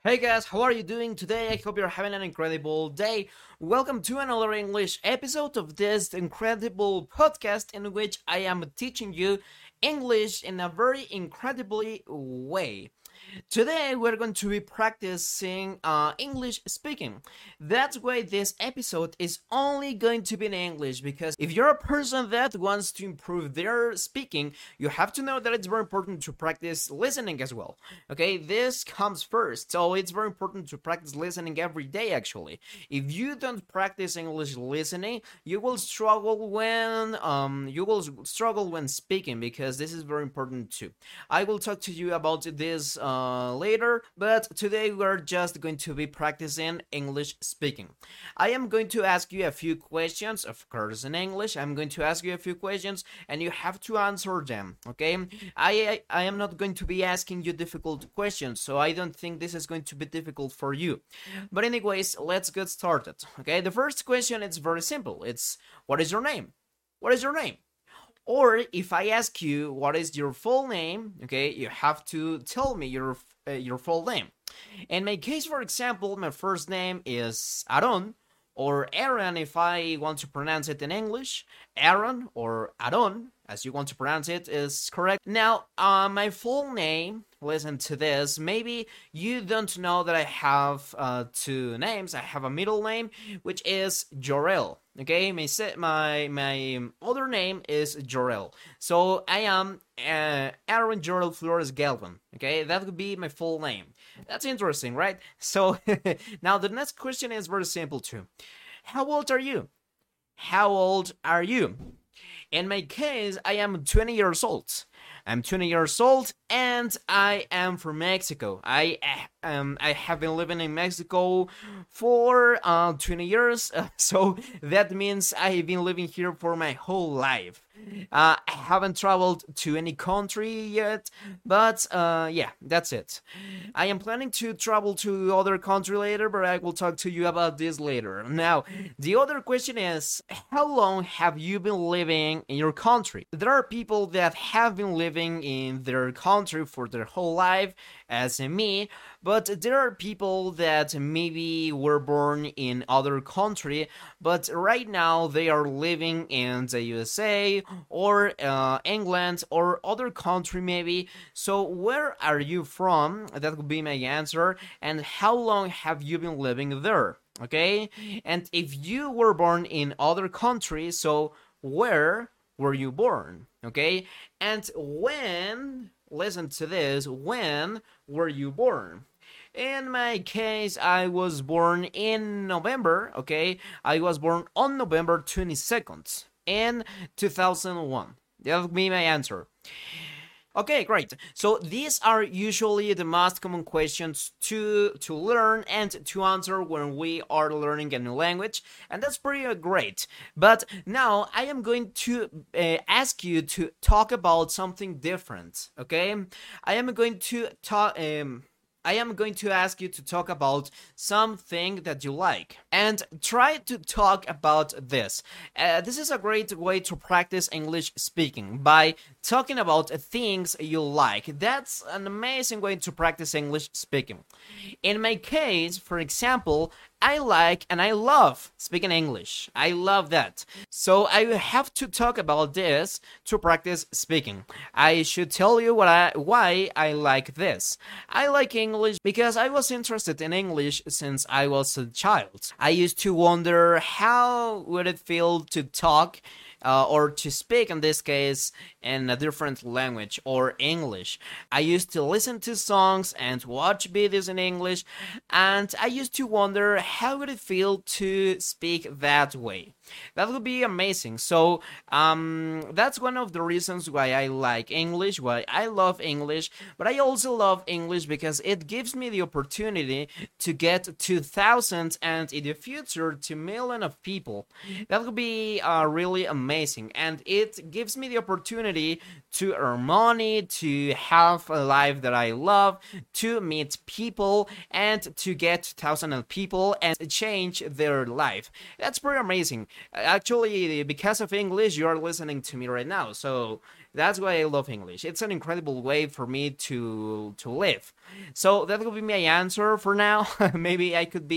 Hey guys, how are you doing today? I hope you're having an incredible day. Welcome to another English episode of this incredible podcast in which I am teaching you English in a very incredibly way. Today we're going to be practicing English speaking. That's why this episode is only going to be in English, because if you're a person that wants to improve their speaking, you have to know that it's very important to practice listening as well. Okay, this comes first, so it's very important to practice listening every day actually. If you don't practice English listening, you will struggle when speaking, because this is very important too. I will talk to you about this later, but today we're just going to be practicing English speaking. I am going to ask you a few questions, of course in English. I'm going to ask you a few questions and you have to answer them, okay? I am not going to be asking you difficult questions, so I don't think this is going to be difficult for you. But anyways, let's get started, okay? The first question is very simple. It's, what is your name? What is your name? Or if I ask you what is your full name, okay, you have to tell me your full name. In my case, for example, my first name is Aaron, or Aaron if I want to pronounce it in English. Aaron or Aaron, as you want to pronounce it, is correct. Now, my full name, listen to this. Maybe you don't know that I have two names. I have a middle name, which is Jorel. Okay, my other name is Jorel. So I am Aaron Jorel Flores Galvan. Okay, that would be my full name. That's interesting, right? So now the next question is very simple too. How old are you? How old are you? In my case, I am 20 years old. I'm 20 years old and I am from Mexico. I have been living in Mexico for 20 years, so that means I've been living here for my whole life. I haven't traveled to any country yet, but yeah, that's it. I am planning to travel to other country later, but I will talk to you about this later. Now, the other question is, how long have you been living in your country? There are people that have been living in their country for their whole life, as in me, but there are people that maybe were born in other country, but right now they are living in the USA or England or other country maybe. So where are you from? That would be my answer. And how long have you been living there? Okay, and if you were born in other countries, so where were you born? Okay, and when, listen to this, when were you born? In my case, I was born in November, okay? I was born on November 22nd in 2001. That would be my answer. Okay, great. So these are usually the most common questions to learn and to answer when we are learning a new language, and that's pretty great. But now I am going to ask you to talk about something different. Okay, I am going to talk. I am going to ask you to talk about something that you like and try to talk about this. This is a great way to practice English speaking by talking about things you like. That's an amazing way to practice English speaking. In my case, for example, I like and I love speaking English. I love that. So I have to talk about this to practice speaking. I should tell you why I like this. I like English because I was interested in English since I was a child. I used to wonder how would it feel to talk or to speak, in this case, in a different language or English. I used to listen to songs and watch videos in English, and I used to wonder how would it feel to speak that way. That would be amazing. So that's one of the reasons why I like English, why I love English, but I also love English because it gives me the opportunity to get to thousands and in the future to millions of people. That would be really amazing, and it gives me the opportunity to earn money, to have a life that I love, to meet people, and to get thousands of people and change their life. That's pretty amazing. Actually, because of English, you are listening to me right now, so that's why I love English. It's an incredible way for me to live. So that will be my answer for now. Maybe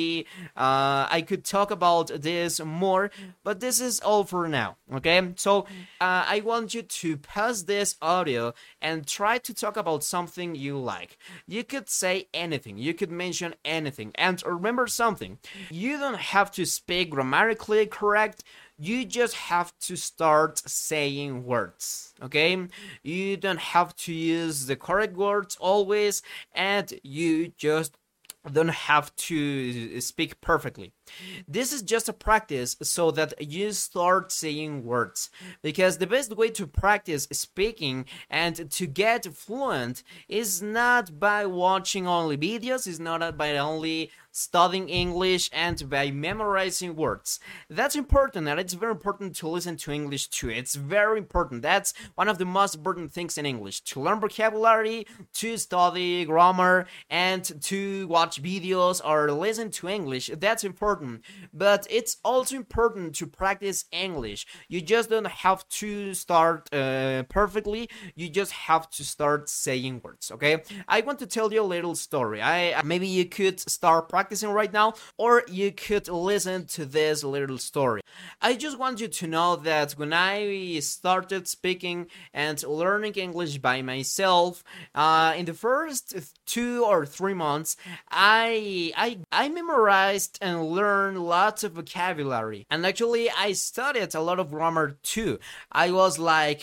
I could talk about this more, but this is all for now. Okay, so I want you to pause this audio and try to talk about something you like. You could say anything, you could mention anything, and remember something: you don't have to speak grammatically correct. You just have to start saying words, okay? You don't have to use the correct words always, and you just don't have to speak perfectly. This is just a practice so that you start saying words. Because the best way to practice speaking and to get fluent is not by watching only videos, is not by only studying English and by memorizing words. That's important, and it's very important to listen to English too. It's very important. That's one of the most important things in English: to learn vocabulary, to study grammar, and to watch videos or listen to English. That's important. But it's also important to practice English. You just don't have to start perfectly. You just have to start saying words, okay? I want to tell you a little story. Maybe you could start practicing right now, or you could listen to this little story. I just want you to know that when I started speaking and learning English by myself, in the first 2 or 3 months, I memorized and learned lots of vocabulary. And actually, I studied a lot of grammar too. I was like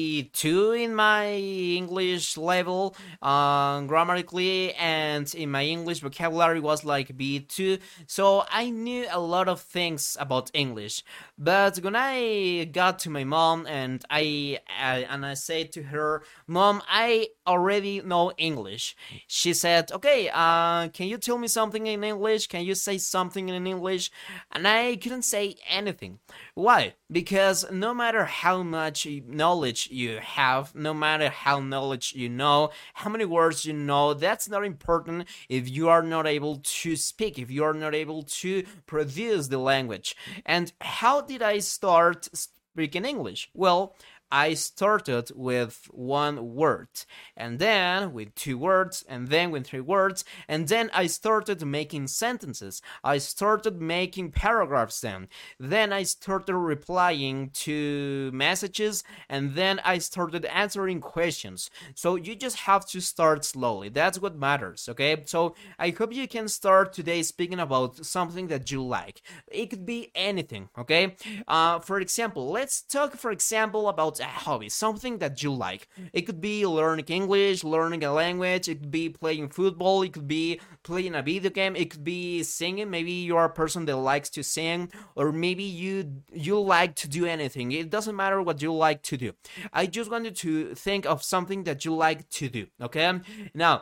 B2 in my English level, grammatically, and in my English vocabulary was like B2. So I knew a lot of things about English. But when I got to my mom and I said to her, "Mom, I already know English," she said, "Okay, can you tell me something in English? Can you say something in English?" And I couldn't say anything. Why? Because no matter how much knowledge you have, no matter how knowledge you know, how many words you know, that's not important if you are not able to speak, if you are not able to produce the language. And how did I start speaking English? Well, I started with one word, and then with 2 words, and then with 3 words, and then I started making sentences. I started making paragraphs then. Then I started replying to messages, and then I started answering questions. So you just have to start slowly. That's what matters, okay? So I hope you can start today speaking about something that you like. It could be anything, okay? For example, let's talk, for example, about a hobby, something that you like. It could be learning English, learning a language, it could be playing football, it could be playing a video game, it could be singing. Maybe you are a person that likes to sing, or maybe you like to do anything. It doesn't matter what you like to do. I just wanted to think of something that you like to do, okay? Now,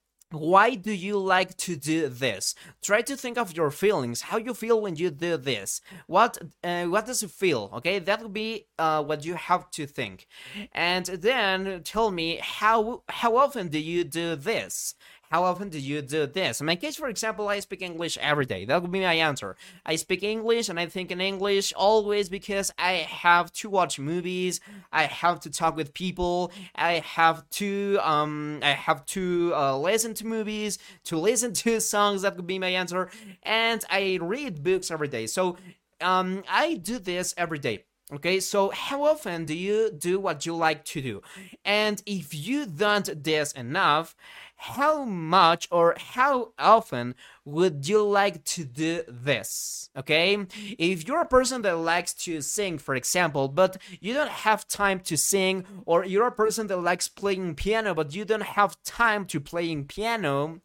why do you like to do this? Try to think of your feelings, how you feel when you do this. What does it feel? Okay, that will be what you have to think. And then tell me, how often do you do this? How often do you do this? In my case, for example, I speak English every day. That would be my answer. I speak English and I think in English always because I have to watch movies, I have to talk with people, I have to listen to movies, to listen to songs. That would be my answer. And I read books every day. So I do this every day. Okay, so how often do you do what you like to do? And if you don't this enough, how much or how often would you like to do this? Okay, if you're a person that likes to sing, for example, but you don't have time to sing, or you're a person that likes playing piano but you don't have time to playing piano,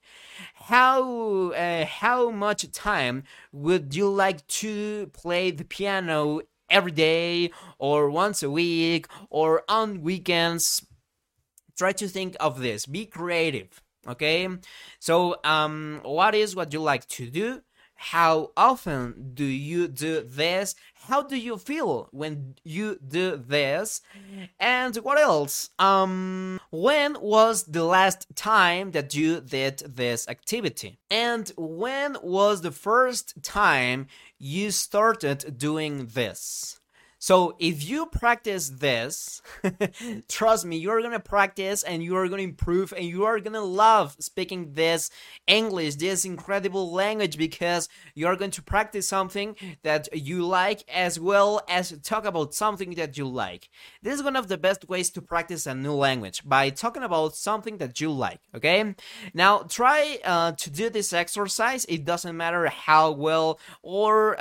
how much time would you like to play the piano every day, or once a week, or on weekends? Try to think of this. Be creative, okay? So, what is what you like to do? How often do you do this? How do you feel when you do this? And what else? When was the last time that you did this activity? And when was the first time you started doing this? So if you practice this, trust me, you're gonna practice and you are gonna improve and you are gonna love speaking this English, this incredible language, because you are going to practice something that you like as well as talk about something that you like. This is one of the best ways to practice a new language, by talking about something that you like, okay? Now try to do this exercise. It doesn't matter how well or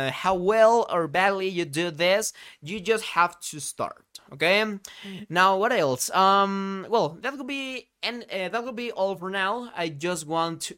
badly you do this, you just have to start, okay? Now what else? Well, that could be that will be all for now. I just wanted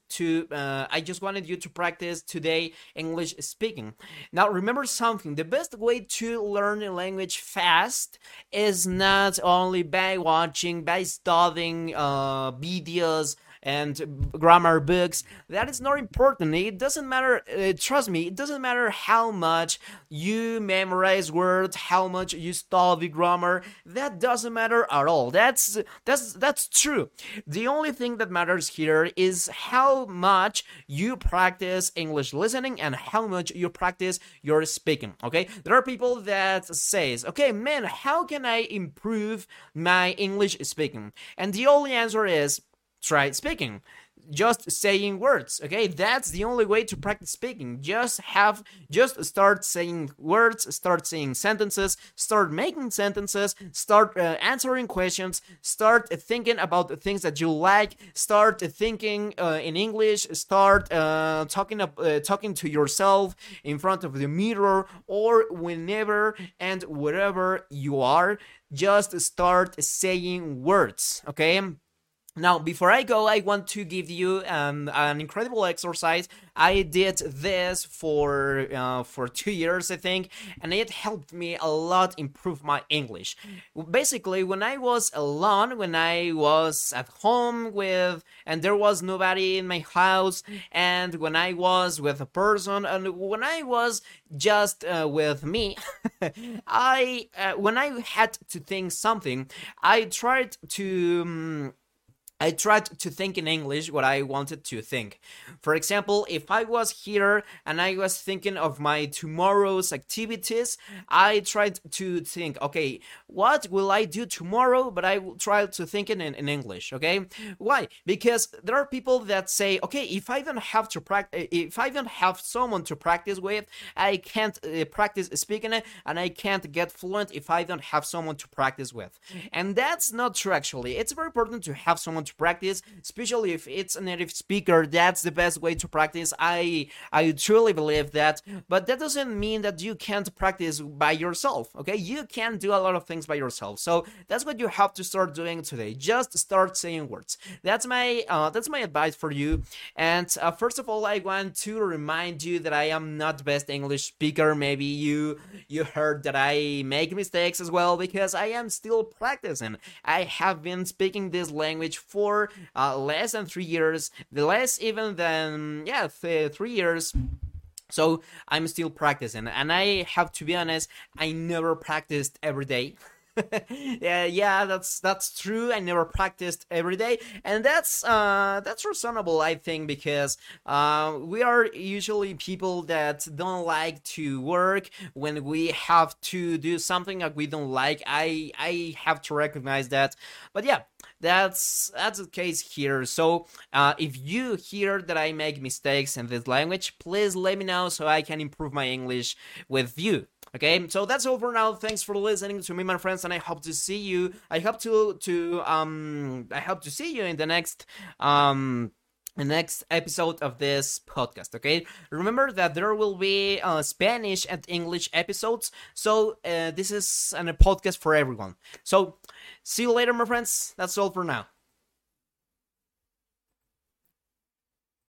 you to practice today English speaking. Now remember something: the best way to learn a language fast is not only by watching, by studying videos and grammar books. That is not important. It doesn't matter. Trust me, it doesn't matter how much you memorize words, how much you study grammar. That doesn't matter at all. That's true. The only thing that matters here is how much you practice English listening and how much you practice your speaking. Okay, there are people that says, "Okay, man, how can I improve my English speaking?" And the only answer is try speaking, just saying words. Okay, that's the only way to practice speaking. Just start saying words, start saying sentences, start making sentences, start answering questions, start thinking about the things that you like, start thinking in English, start talking to yourself in front of the mirror or whenever and wherever you are. Just start saying words, okay? Now, before I go, I want to give you an incredible exercise. I did this for 2 years, I think, and it helped me a lot improve my English. Basically, when I was alone, when I was at home and there was nobody in my house, and when I was with a person, and when I was just with me, when I had to think something, I tried to think in English what I wanted to think. For example, if I was here and I was thinking of my tomorrow's activities, I tried to think, okay, what will I do tomorrow? But I will try to think in English, okay? Why? Because there are people that say, okay, if I don't have someone to practice with, I can't practice speaking it, and I can't get fluent if I don't have someone to practice with. And that's not true, actually. It's very important to have someone to practice, especially if it's a native speaker. That's the best way to practice. I truly believe that, but that doesn't mean that you can't practice by yourself, okay? You can do a lot of things by yourself. So that's what you have to start doing today. Just start saying words. That's my advice for you. And first of all, I want to remind you that I am not the best English speaker. Maybe you heard that I make mistakes as well, because I am still practicing. I have been speaking this language for less than 3 years, less even than 3 years. So I'm still practicing, and I have to be honest, I never practiced every day. Yeah, that's true. I never practiced every day, and that's reasonable, I think, because we are usually people that don't like to work when we have to do something that we don't like. I have to recognize that, but yeah, that's the case here. So if you hear that I make mistakes in this language, please let me know so I can improve my English with you. Okay, so that's all for now. Thanks for listening to me, my friends, and I hope to see you. I hope to see you in the next episode of this podcast. Okay, remember that there will be Spanish and English episodes, so this is a podcast for everyone. So see you later, my friends. That's all for now.